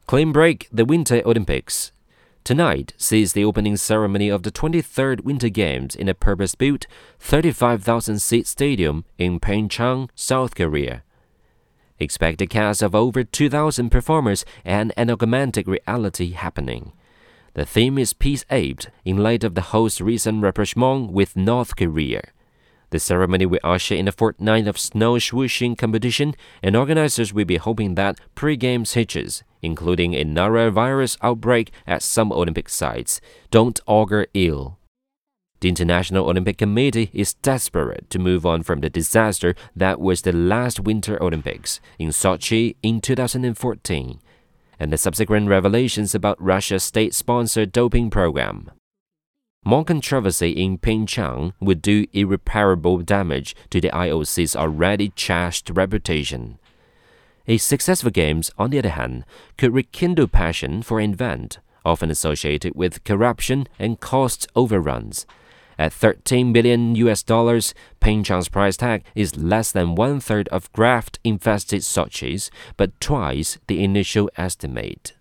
Clean break the Winter Olympics. Tonight sees the opening ceremony of the 23rd Winter Games in a purpose-built 35,000-seat stadium in Pyeongchang, South Korea. Expect a cast of over 2,000 performers and an augmented reality happening. The theme is Peace Aped, in light of the host's recent rapprochement with North Korea. The ceremony will usher in a fortnight of snow swooshing competition, and organizers will be hoping that pre-games hitches, including a norovirus outbreak at some Olympic sites, don't augur ill. The International Olympic Committee is desperate to move on from the disaster that was the last Winter Olympics in Sochi in 2014, and the subsequent revelations about Russia's state-sponsored doping program. More controversy in Pyeongchang would do irreparable damage to the IOC's already trashed reputation. A successful Games, on the other hand, could rekindle passion for an event, often associated with corruption and cost overruns. At $13 billion, Pyeongchang's price tag is less than one-third of graft-infested Sochi's, but twice the initial estimate.